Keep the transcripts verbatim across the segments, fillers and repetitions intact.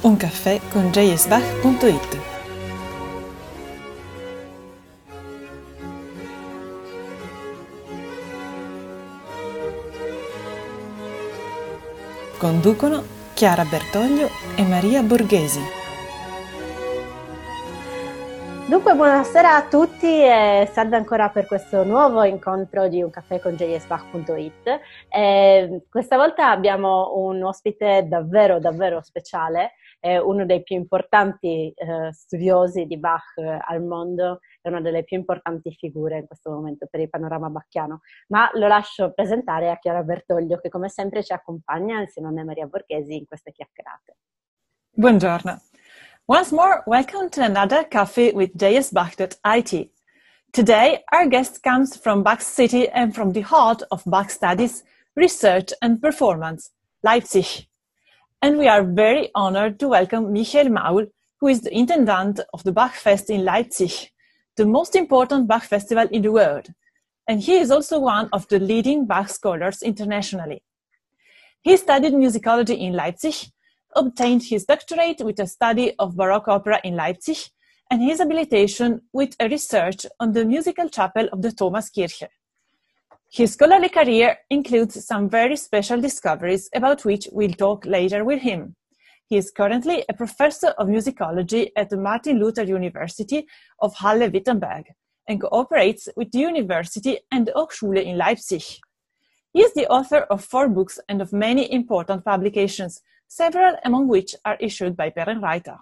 Un caffè con j s bach punto it. Conducono Chiara Bertoglio e Maria Borghesi. Dunque, buonasera a tutti e salve ancora per questo nuovo incontro di Un caffè con j s bach punto it. Eh, questa volta abbiamo un ospite davvero, davvero speciale, eh, uno dei più importanti eh, studiosi di Bach eh, al mondo, è una delle più importanti figure in questo momento per il panorama bacchiano. Ma lo lascio presentare a Chiara Bertoglio, che come sempre ci accompagna insieme a me, Maria Borghesi, in queste chiacchierate. Buongiorno. Once more, welcome to another Coffee with j s bach dot i t. Today, our guest comes from Bach City and from the heart of Bach studies, research and performance, Leipzig. And we are very honored to welcome Michael Maul, who is the intendant of the Bach Fest in Leipzig, the most important Bach festival in the world. And he is also one of the leading Bach scholars internationally. He studied musicology in Leipzig, obtained his doctorate with a study of Baroque opera in Leipzig, and his habilitation with a research on the musical chapel of the Thomaskirche. His scholarly career includes some very special discoveries about which we'll talk later with him. He is currently a professor of musicology at the Martin Luther University of Halle-Wittenberg and cooperates with the university and the Hochschule in Leipzig. He is the author of four books and of many important publications, several among which are issued by Perrenreiter.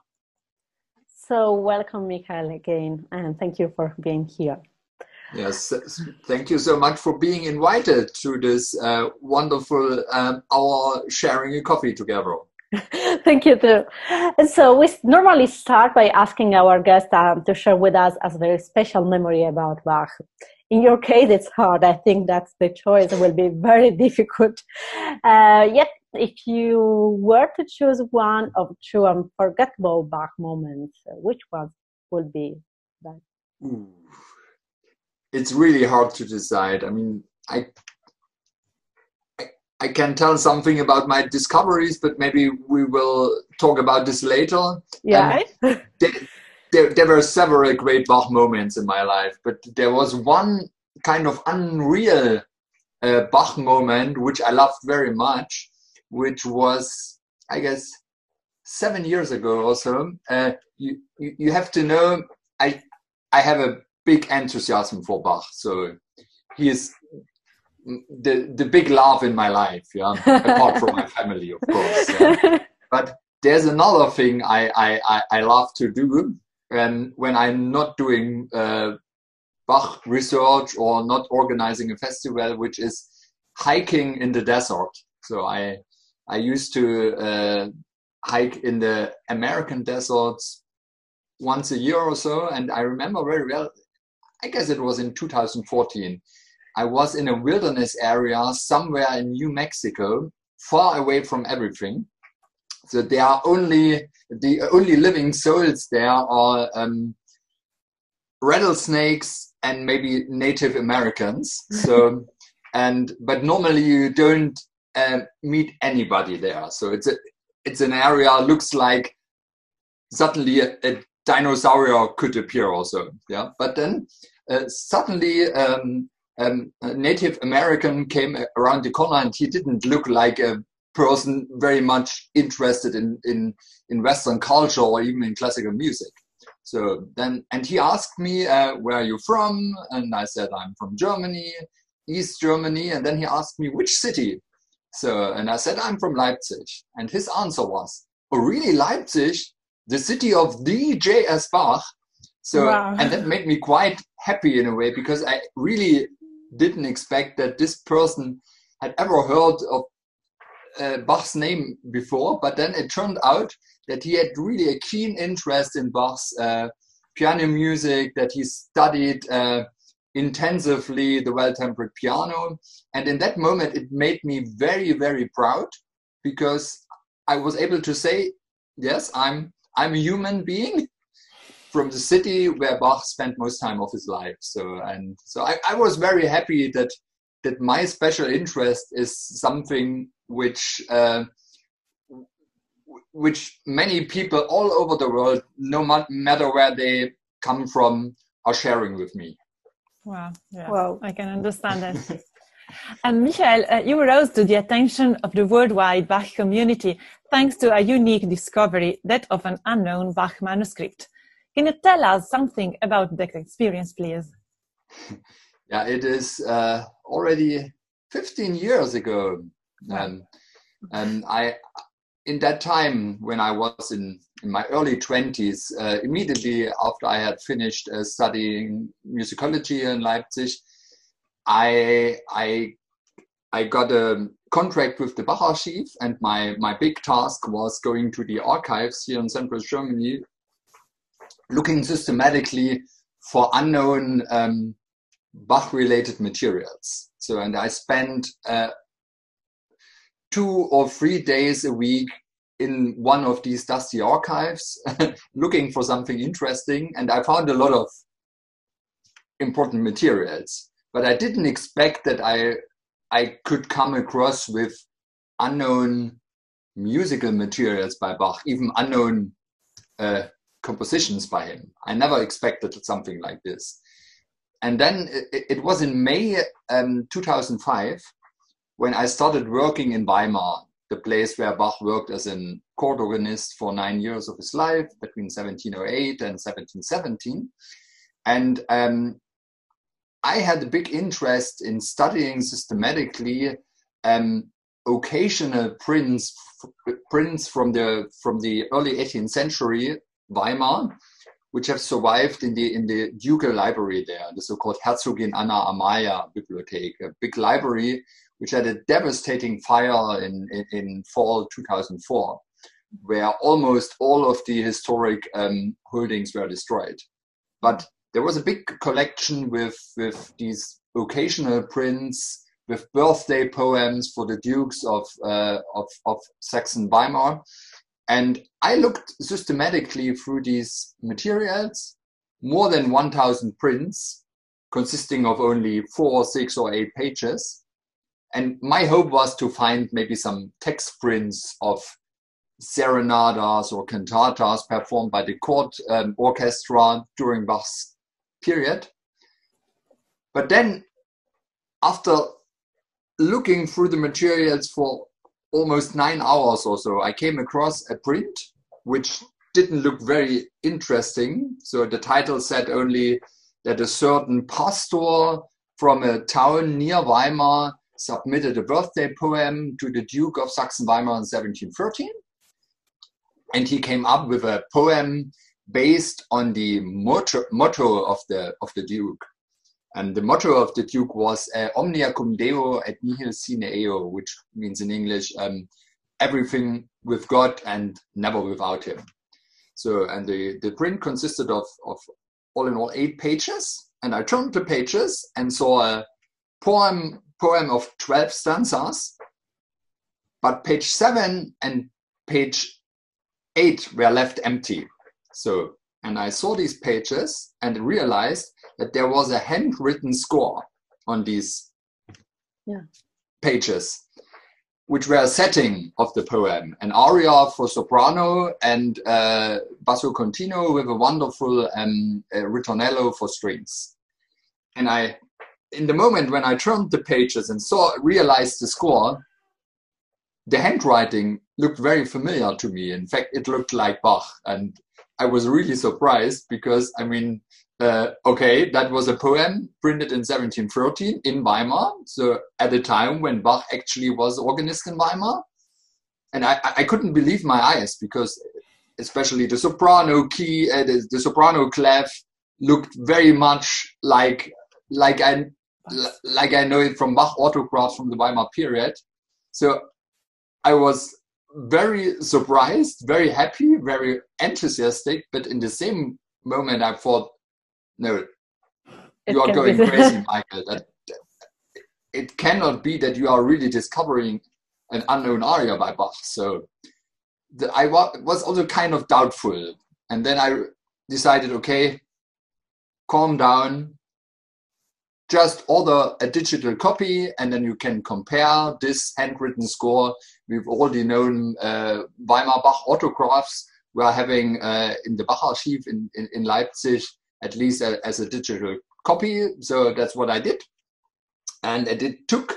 So welcome, Michael, again, and thank you for being here. Yes, thank you so much for being invited to this uh, wonderful um, hour sharing a coffee together. Thank you too. And so we normally start by asking our guests um, to share with us a very special memory about Bach. In your case, it's hard. I think that the choice will be very difficult. Uh, yet, if you were to choose one of two unforgettable Bach moments, which one would be that? Ooh. It's really hard to decide. I mean, I, I I can tell something about my discoveries, but maybe we will talk about this later. Yeah. There, there, there were several great Bach moments in my life, but there was one kind of unreal uh, Bach moment which I loved very much, which was, I guess, seven years ago or so. Uh, you, you you have to know, I I have a big enthusiasm for Bach, so he is the the big love in my life, yeah. Apart from my family, of course. Yeah. But there's another thing I I I, I love to do, and when I'm not doing uh, Bach research or not organizing a festival, which is hiking in the desert. So I I used to uh, hike in the American deserts once a year or so, and I remember very well, I guess it was in two thousand fourteen, I was in a wilderness area somewhere in New Mexico, far away from everything. So there are only, the only living souls there are um, rattlesnakes and maybe Native Americans. So, and, but normally you don't uh, meet anybody there. So it's a, it's an area, looks like suddenly a, a dinosaur could appear also. Yeah. But then uh, suddenly um, um, a Native American came around the corner, and he didn't look like a person very much interested in, in, in Western culture or even in classical music. So then, and he asked me, uh, where are you from? And I said, I'm from Germany, East Germany. And then he asked me, which city? So, and I said, I'm from Leipzig. And his answer was, oh, really, Leipzig? The city of the J S Bach? So, wow. And that made me quite happy in a way, because I really didn't expect that this person had ever heard of uh, Bach's name before. But then it turned out that he had really a keen interest in Bach's uh, piano music, that he studied uh, intensively the well-tempered piano. And in that moment, it made me very, very proud, because I was able to say, yes, I'm I'm a human being from the city where Bach spent most time of his life. So, and so I, I was very happy that that my special interest is something which uh, which many people all over the world, no matter where they come from, are sharing with me. Wow, yeah, Wow. I can understand that. And Michael, uh, you rose to the attention of the worldwide Bach community thanks to a unique discovery, that of an unknown Bach manuscript. Can you tell us something about that experience, please? Yeah, it is uh, already fifteen years ago. Um, and I, in that time, when I was in, in my early twenties, uh, immediately after I had finished uh, studying musicology in Leipzig, I, I, I got a contract with the Bach Archive, and my, my big task was going to the archives here in central Germany, looking systematically for unknown um, Bach-related materials. So, and I spent uh, two or three days a week in one of these dusty archives, looking for something interesting, and I found a lot of important materials. But I didn't expect that I I could come across with unknown musical materials by Bach, even unknown uh, compositions by him. I never expected something like this. And then it, it was in May um, two thousand five when I started working in Weimar, the place where Bach worked as a court organist for nine years of his life, between seventeen oh eight and seventeen seventeen. And um, I had a big interest in studying systematically um, occasional prints, prints from the from the early eighteenth century Weimar, which have survived in the in the ducal library there, the so-called Herzogin Anna Amalia Bibliothek, a big library which had a devastating fire in in, in fall two thousand four, where almost all of the historic um, holdings were destroyed. But there was a big collection with, with these occasional prints, with birthday poems for the dukes of, uh, of, of Saxon-Weimar. And I looked systematically through these materials, more than one thousand prints, consisting of only four, six, or eight pages. And my hope was to find maybe some text prints of serenadas or cantatas performed by the court um, orchestra during Bach's period. But then, after looking through the materials for almost nine hours or so, I came across a print which didn't look very interesting. So the title said only that a certain pastor from a town near Weimar submitted a birthday poem to the Duke of Saxon-Weimar in seventeen thirteen. And he came up with a poem based on the motto, motto of the of the Duke. And the motto of the Duke was uh, Omnia cum Deo et nihil sine eo, which means in English, um, everything with God and never without him. So, and the, the print consisted of, of all in all eight pages. And I turned the pages and saw a poem, poem of twelve stanzas, but page seven and page eight were left empty. So, and I saw these pages and realized that there was a handwritten score on these yeah. pages, which were a setting of the poem, an aria for soprano and uh, basso continuo with a wonderful um, uh, ritornello for strings. And I, in the moment when I turned the pages and saw, realized the score, the handwriting looked very familiar to me. In fact, it looked like Bach. And I was really surprised because, I mean, uh, okay, that was a poem printed in seventeen thirteen in Weimar. So at a time when Bach actually was organist in Weimar. And I, I couldn't believe my eyes because especially the soprano key, uh, the, the soprano clef looked very much like, like I, like I know it from Bach autographs from the Weimar period. So I was very surprised, very happy, very enthusiastic, but in the same moment I thought, no, you are going crazy, Michael. That, it cannot be that you are really discovering an unknown aria by Bach. So the, I wa was also kind of doubtful. And then I decided, okay, calm down. just order a digital copy, and then you can compare this handwritten score with all the known uh, Weimar Bach autographs we are having uh, in the Bach Archive in, in, in Leipzig, at least a, as a digital copy. So that's what I did. And it took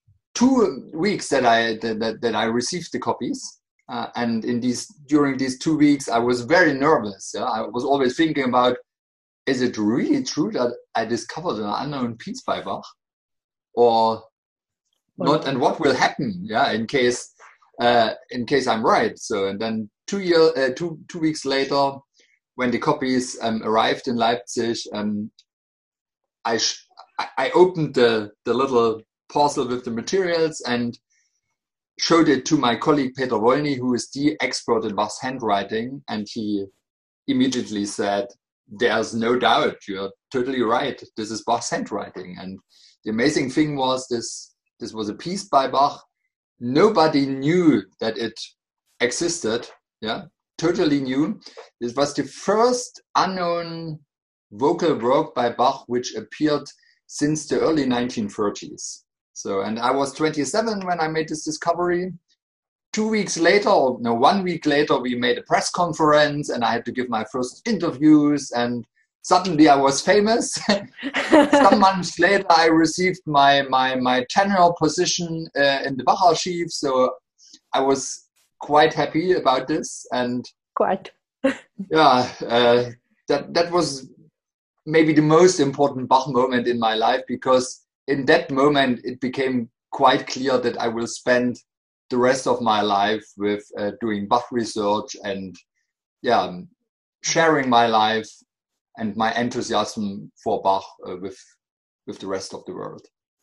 two weeks that I, that, that I received the copies. Uh, and in these, during these two weeks, I was very nervous. Yeah? I was always thinking about, is it really true that I discovered an unknown piece by Bach, or not? And what will happen? Yeah, in case uh, in case I'm right. So, and then two year, uh, two two weeks later, when the copies um, arrived in Leipzig, um, I sh I opened the the little parcel with the materials and showed it to my colleague Peter Wolny, who is the expert in Bach's handwriting, and he immediately said, "There's no doubt, you're totally right. This is Bach's handwriting." And the amazing thing was this, this was a piece by Bach. Nobody knew that it existed, yeah, totally new. This was the first unknown vocal work by Bach which appeared since the early nineteen thirties. So, and I was twenty-seven when I made this discovery. Two weeks later, or no, one week later, we made a press conference and I had to give my first interviews, and suddenly I was famous. Some months later, I received my, my, my tenure position uh, in the Bach Archive. So I was quite happy about this. And quite. yeah, uh, that, that was maybe the most important Bach moment in my life, because in that moment, it became quite clear that I will spend the rest of my life with uh, doing Bach research and yeah, sharing my life and my enthusiasm for Bach uh, with with the rest of the world.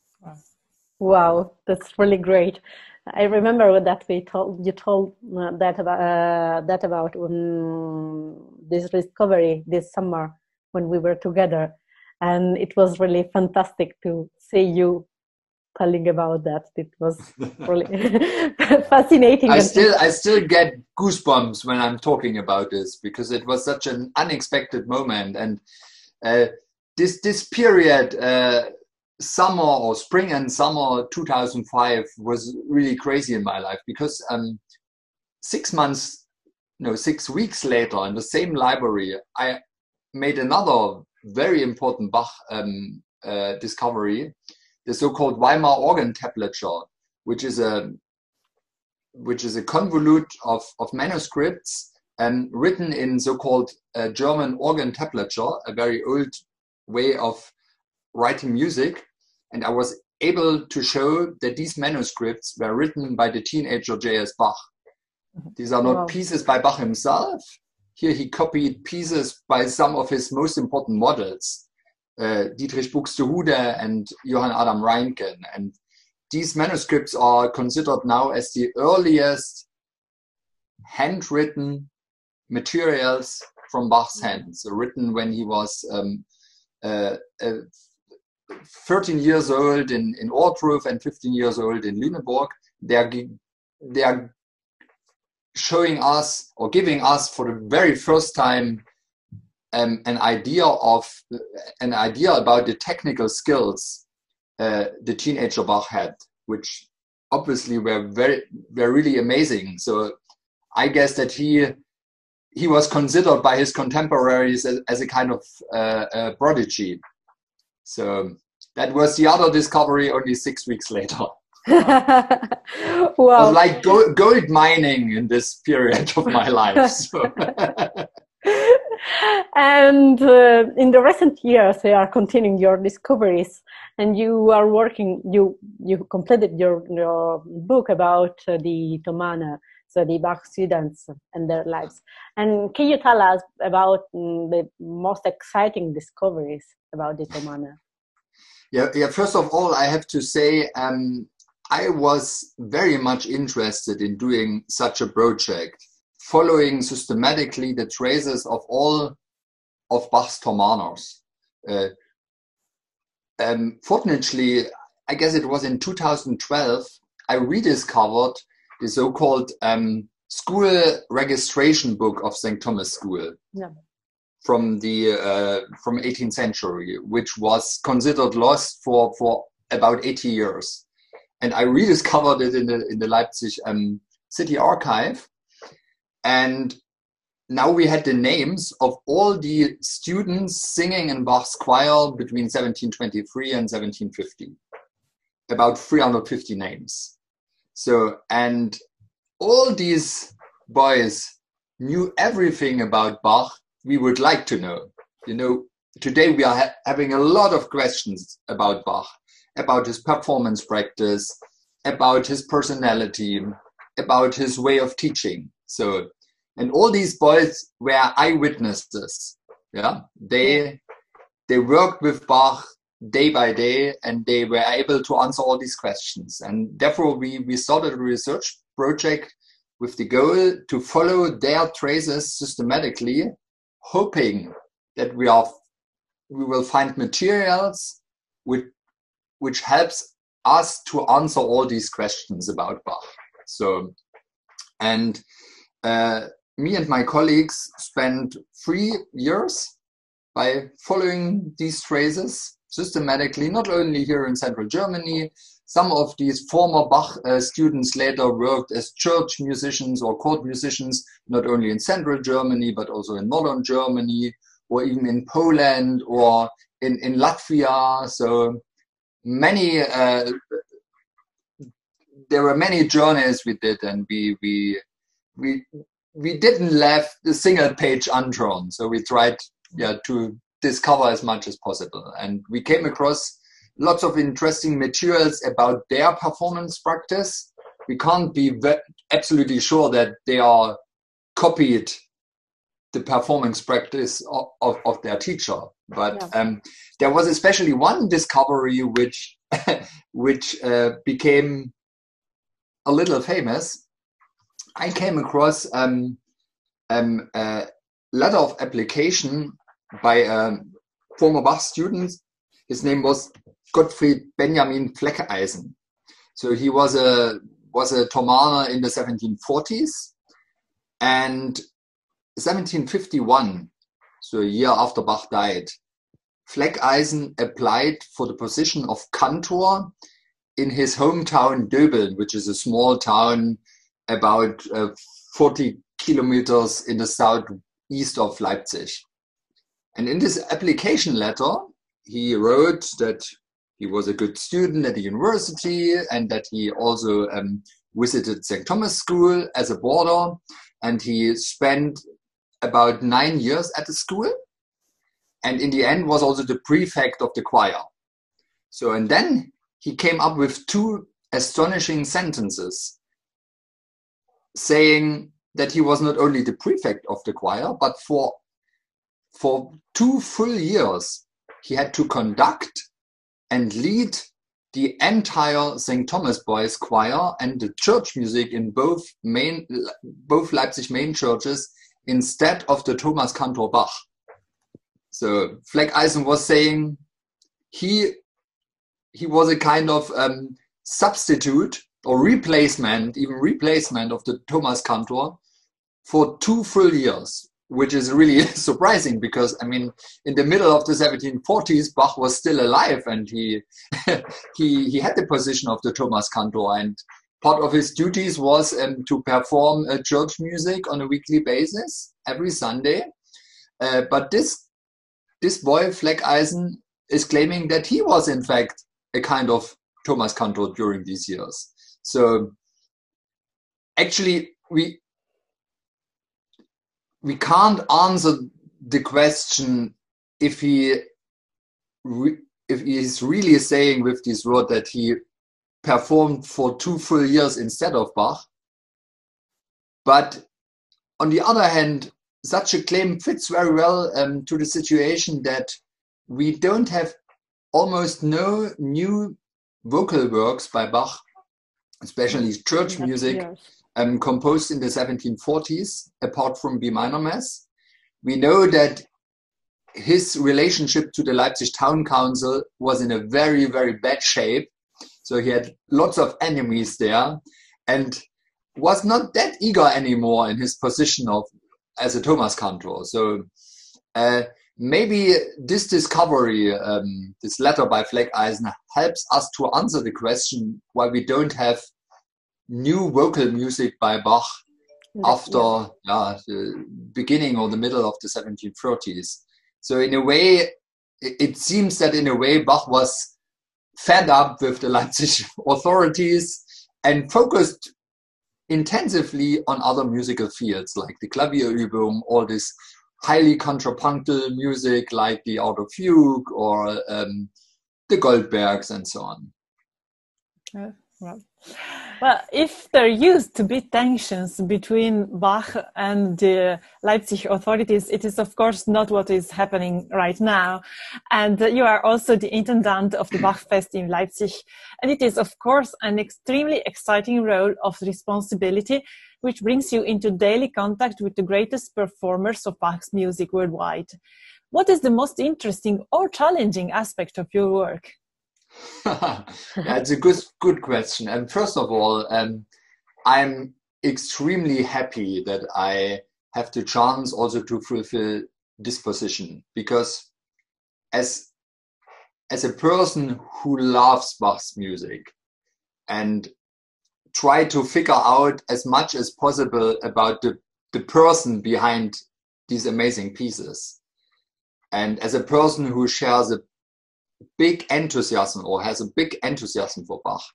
Wow, that's really great. I remember that we told you told uh, that about uh, that about um, this discovery this summer when we were together, and it was really fantastic to see you telling about that. It was really fascinating. I still, I still get goosebumps when I'm talking about this, because it was such an unexpected moment. And uh, this this period, uh, summer or spring and summer two thousand five, was really crazy in my life, because um, six months, no, six weeks later, in the same library, I made another very important Bach um, uh, discovery. The so-called Weimar organ tablature, which is a which is a convolute of, of manuscripts and written in so-called uh, German organ tablature, a very old way of writing music. And I was able to show that these manuscripts were written by the teenager J S Bach. These are not wow. pieces by Bach himself. Here he copied pieces by some of his most important models. Uh, Dietrich Buxtehude and Johann Adam Reinken, and these manuscripts are considered now as the earliest handwritten materials from Bach's hand. So written when he was um, uh, uh, thirteen years old in, in Ohrdruf and fifteen years old in Lüneburg. They are, they are showing us or giving us for the very first time Um, an idea of an idea about the technical skills uh, the teenager Bach had, which obviously were very were really amazing. So I guess that he he was considered by his contemporaries as, as a kind of uh, a prodigy. So that was the other discovery only six weeks later. Wow. It was like gold, gold mining in this period of my life. So. And uh, in the recent years, you are continuing your discoveries, and you are working. You you completed your your book about uh, the Thomaner, so the Bach students and their lives. And can you tell us about um, the most exciting discoveries about the Thomaner? Yeah, yeah. First of all, I have to say um, I was very much interested in doing such a project, following systematically the traces of all of Bach's Thomaners. Uh, um, fortunately, I guess it was in two thousand twelve, I rediscovered the so-called um, school registration book of Saint Thomas School. Yeah. from the uh, from eighteenth century, which was considered lost for for about eighty years. And I rediscovered it in the in the Leipzig um, City Archive, and now we had the names of all the students singing in Bach's choir between seventeen twenty-three and seventeen fifty, about three hundred fifty names. So, and all these boys knew everything about Bach we would like to know. You know, today we are ha having a lot of questions about Bach, about his performance practice, about his personality, about his way of teaching. So, and all these boys were eyewitnesses. Yeah, they they worked with Bach day by day, and they were able to answer all these questions. And therefore, we we started a research project with the goal to follow their traces systematically, hoping that we are we will find materials which which helps us to answer all these questions about Bach. So, and uh, me and my colleagues spent three years by following these traces systematically, not only here in central Germany. Some of these former Bach uh, students later worked as church musicians or court musicians, not only in central Germany, but also in northern Germany, or even in Poland or in, in Latvia. So many, uh, there were many journeys we did, and we, we, we, we didn't left a single page undrawn. So we tried yeah, to discover as much as possible. And we came across lots of interesting materials about their performance practice. We can't be absolutely sure that they are copied the performance practice of, of, of their teacher. But yeah. um, there was especially one discovery which, which uh, became a little famous. I came across um, um, a letter of application by a former Bach student. His name was Gottfried Benjamin Fleckeisen. So he was a was a Thomaner in the seventeen forties, and seventeen fifty-one, so a year after Bach died, Fleckeisen applied for the position of cantor in his hometown Döbeln, which is a small town about uh, forty kilometers in the southeast of Leipzig. And in this application letter, he wrote that he was a good student at the university, and that he also um, visited Saint Thomas School as a boarder, and he spent about nine years at the school, and in the end was also the prefect of the choir. So, and then he came up with two astonishing sentences saying that he was not only the prefect of the choir, but for, for two full years he had to conduct and lead the entire Saint Thomas Boys choir and the church music in both main, both Leipzig main churches instead of the Thomas Cantor Bach. So Fleckeisen was saying he, he was a kind of um, substitute or replacement, even replacement of the Thomas Cantor for two full years, which is really surprising because, I mean, in the middle of the seventeen forties, Bach was still alive, and he, he, he had the position of the Thomas Cantor, and part of his duties was um, to perform uh, church music on a weekly basis every Sunday. Uh, but this, this boy, Fleckeisen, is claiming that he was, in fact, a kind of Thomas Cantor during these years. So actually, we we can't answer the question if he re if he is really saying with this word that he performed for two full years instead of Bach. But on the other hand, such a claim fits very well um, to the situation that we don't have almost no new vocal works by Bach, especially church music, um, composed in the seventeen forties, apart from B minor Mass. We know that his relationship to the Leipzig Town Council was in a very, very bad shape. So he had lots of enemies there and was not that eager anymore in his position of as a Thomas Cantor. So uh, maybe this discovery, um, this letter by Fleckeisen, helps us to answer the question why we don't have new vocal music by Bach after yeah. Yeah, the beginning or the middle of the seventeen thirties. So in a way, it seems that in a way Bach was fed up with the Leipzig authorities and focused intensively on other musical fields like the Klavierübung, all this highly contrapuntal music like the Auto Fugue or um, the Goldbergs and so on. Uh, well. Well, if there used to be tensions between Bach and the Leipzig authorities, it is of course not what is happening right now. And uh, you are also the intendant of the Bachfest in Leipzig. And it is of course an extremely exciting role of responsibility, which brings you into daily contact with the greatest performers of Bach's music worldwide. What is the most interesting or challenging aspect of your work? That's a good good question. And first of all, um, I'm extremely happy that I have the chance also to fulfill this position, because as as a person who loves Bach's music and try to figure out as much as possible about the, the person behind these amazing pieces, and as a person who shares a big enthusiasm or has a big enthusiasm for Bach,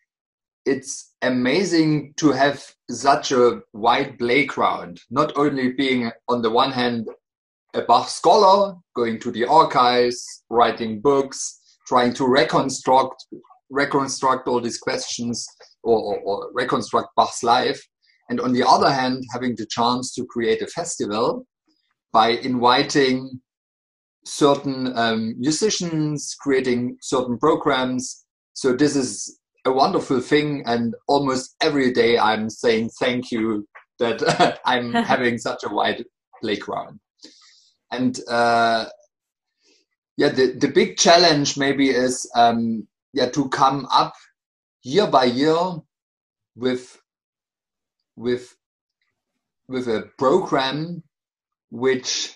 it's amazing to have such a wide playground, not only being on the one hand a Bach scholar, going to the archives, writing books, trying to reconstruct reconstruct all these questions or, or, or reconstruct Bach's life, and on the other hand having the chance to create a festival by inviting certain um, musicians, creating certain programs. So this is a wonderful thing, and almost every day I'm saying thank you that I'm having such a wide playground. And uh, yeah, the, the big challenge maybe is um, yeah to come up year by year with with with a program which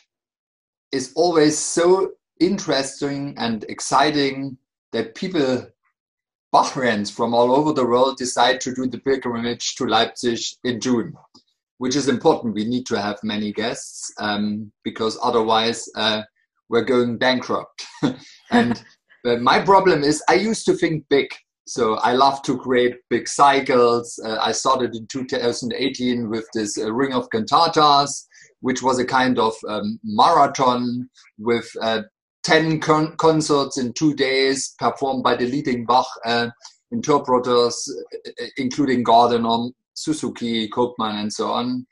is always so interesting and exciting that people, Bachfans from all over the world, decide to do the pilgrimage to Leipzig in June, which is important. We need to have many guests um, because otherwise uh, we're going bankrupt. And uh, my problem is I used to think big. So I love to create big cycles. Uh, I started in two thousand eighteen with this uh, Ring of Cantatas, which was a kind of um, marathon with uh, ten con concerts in two days performed by the leading Bach uh, interpreters, uh, including Gardiner, Suzuki, Koopman, and so on.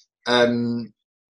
Um,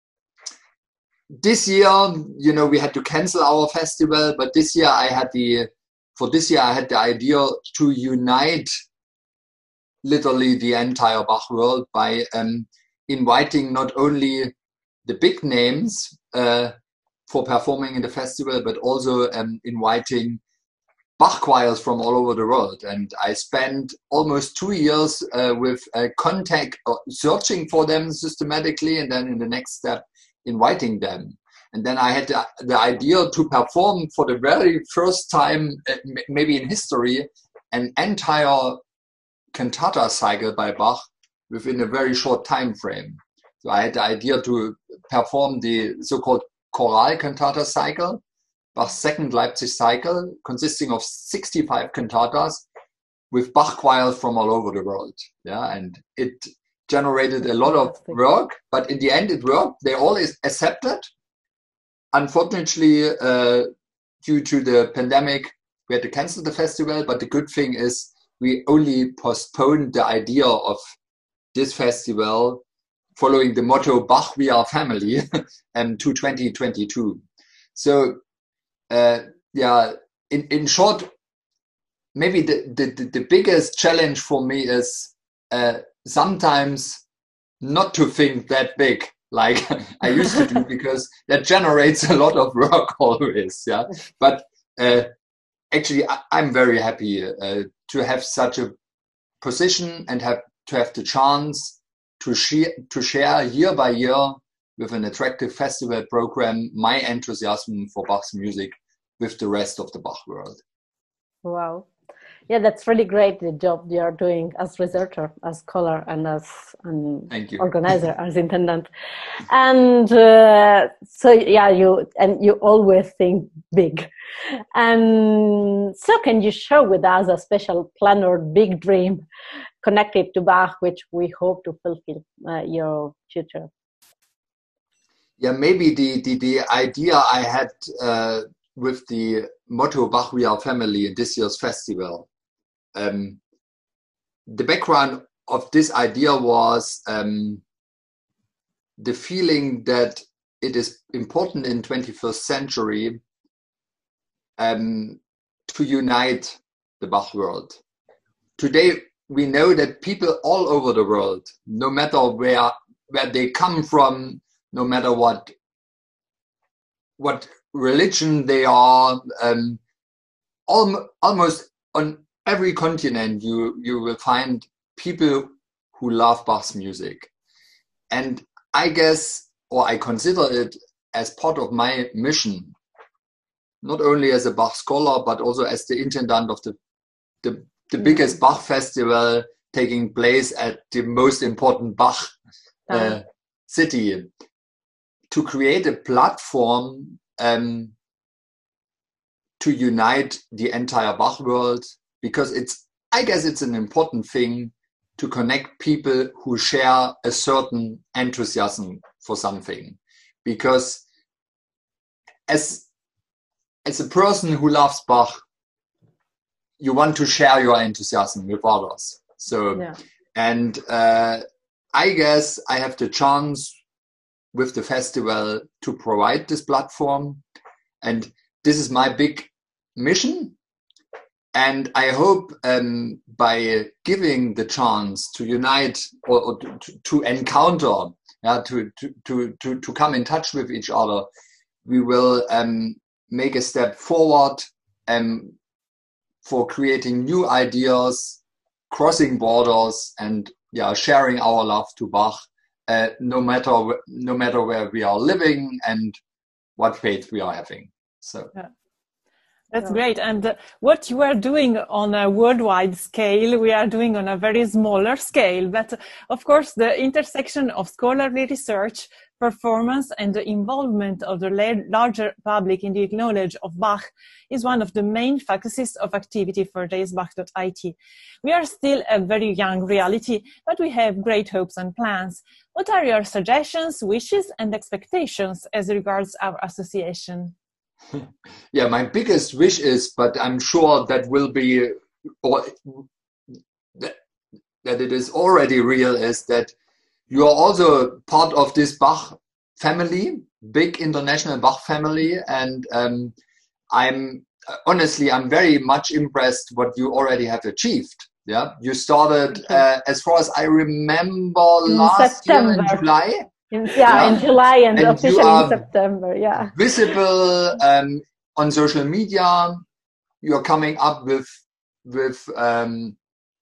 this year, you know, we had to cancel our festival, but this year I had the, for this year I had the idea to unite literally the entire Bach world by um, inviting not only the big names uh, for performing in the festival, but also um, inviting Bach choirs from all over the world. And I spent almost two years uh, with uh, contact, uh, searching for them systematically, and then in the next step, inviting them. And then I had the, the idea to perform for the very first time, uh, maybe in history, an entire cantata cycle by Bach within a very short time frame. So I had the idea to perform the so-called choral cantata cycle, Bach's second Leipzig cycle, consisting of sixty-five cantatas with Bach choirs from all over the world. Yeah, and it generated a lot of work, but in the end it worked. They all accepted. Unfortunately, uh, due to the pandemic, we had to cancel the festival, but the good thing is we only postponed the idea of this festival following the motto Bach, we are family, um, to twenty twenty-two. So, uh, yeah, in, in short, maybe the, the, the biggest challenge for me is uh, sometimes not to think that big like I used to do, because that generates a lot of work always. Yeah, but uh, actually, I, I'm very happy uh, to have such a position and have to have the chance to share to share year by year with an attractive festival program, my enthusiasm for Bach's music with the rest of the Bach world. Wow. Yeah, that's really great, the job you are doing as researcher, as scholar, and as an organizer, as intendant. And uh, so, yeah, you and you always think big. And so can you share with us a special plan or big dream connected to Bach, which we hope to fulfill uh, your future? Yeah, maybe the, the, the idea I had uh, with the motto Bach We Are Family in this year's festival. Um, the background of this idea was um, the feeling that it is important in twenty-first century um, to unite the Bach world. Today, we know that people all over the world, no matter where, where they come from, no matter what, what religion they are, um, al almost on every continent you, you will find people who love Bach's music. And I guess, or I consider it as part of my mission, not only as a Bach scholar, but also as the intendant of the, the, the biggest Bach festival taking place at the most important Bach uh, city, to create a platform um, to unite the entire Bach world, because it's, I guess it's an important thing to connect people who share a certain enthusiasm for something. Because as, as a person who loves Bach, you want to share your enthusiasm with others. So, yeah. and uh, I guess I have the chance with the festival to provide this platform. And this is my big mission. And I hope um, by giving the chance to unite or, or to, to encounter, yeah, to, to, to, to come in touch with each other, we will um, make a step forward um, for creating new ideas, crossing borders, and yeah, sharing our love to Bach, uh, no matter no matter where we are living and what faith we are having. So. Yeah. That's great. And uh, what you are doing on a worldwide scale, we are doing on a very smaller scale. But of course, the intersection of scholarly research, performance, and the involvement of the larger public in the knowledge of Bach is one of the main focuses of activity for j s bach dot i t. We are still a very young reality, but we have great hopes and plans. What are your suggestions, wishes, and expectations as regards our association? Yeah, my biggest wish is, but I'm sure that will be, or that, that it is already real, is that you are also part of this Bach family, big international Bach family. And um, I'm honestly, I'm very much impressed what you already have achieved. Yeah, you started, uh, as far as I remember, in last September. year in July. In, yeah, yeah, in July and, and officially in September, yeah. Visible um, on social media. You're coming up with with um,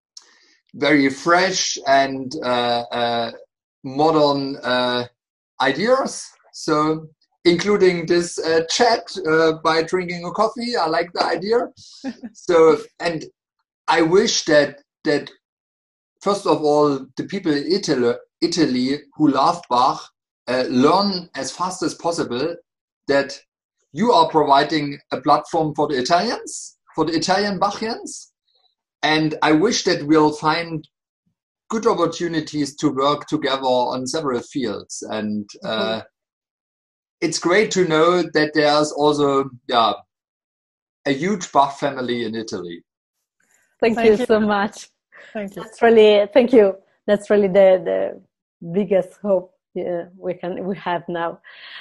very fresh and uh, uh, modern uh, ideas. So, including this uh, chat uh, by drinking a coffee. I like the idea. So, and I wish that that first of all, the people in Italy, Italy who love Bach uh, learn as fast as possible that you are providing a platform for the Italians, for the Italian Bachians. And I wish that we'll find good opportunities to work together on several fields. And uh, mm-hmm. it's great to know that there's also yeah, a huge Bach family in Italy. Thank, thank you, you so much. Thank you. That's really, thank you. That's really the, the biggest hope uh, we can we have now,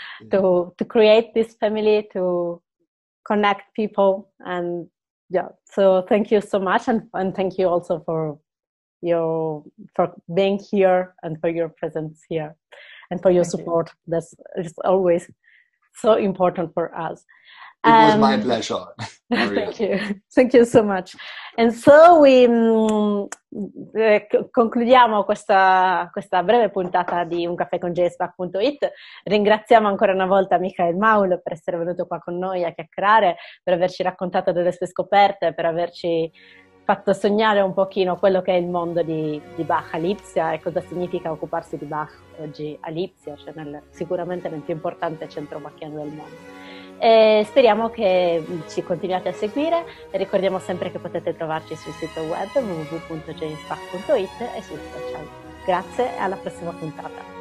to to create this family, to connect people, and yeah. So thank you so much, and and thank you also for your for being here and for your presence here, and for your thank support. You. That's it's always so important for us. It was Um, my pleasure. Thank you. Thank you so much. And so we um, eh, concludiamo questa, questa breve puntata di Un caffè con jspach punto it. Ringraziamo ancora una volta Michael Maul per essere venuto qua con noi a chiacchierare, per averci raccontato delle sue scoperte, per averci fatto sognare un pochino quello che è il mondo di, di Bach a Lipsia e cosa significa occuparsi di Bach oggi a Lipsia, cioè nel, sicuramente nel più importante centro bacchiano del mondo. E speriamo che ci continuiate a seguire e ricordiamo sempre che potete trovarci sul sito web w w w punto jspach punto it e sui social. Grazie e alla prossima puntata.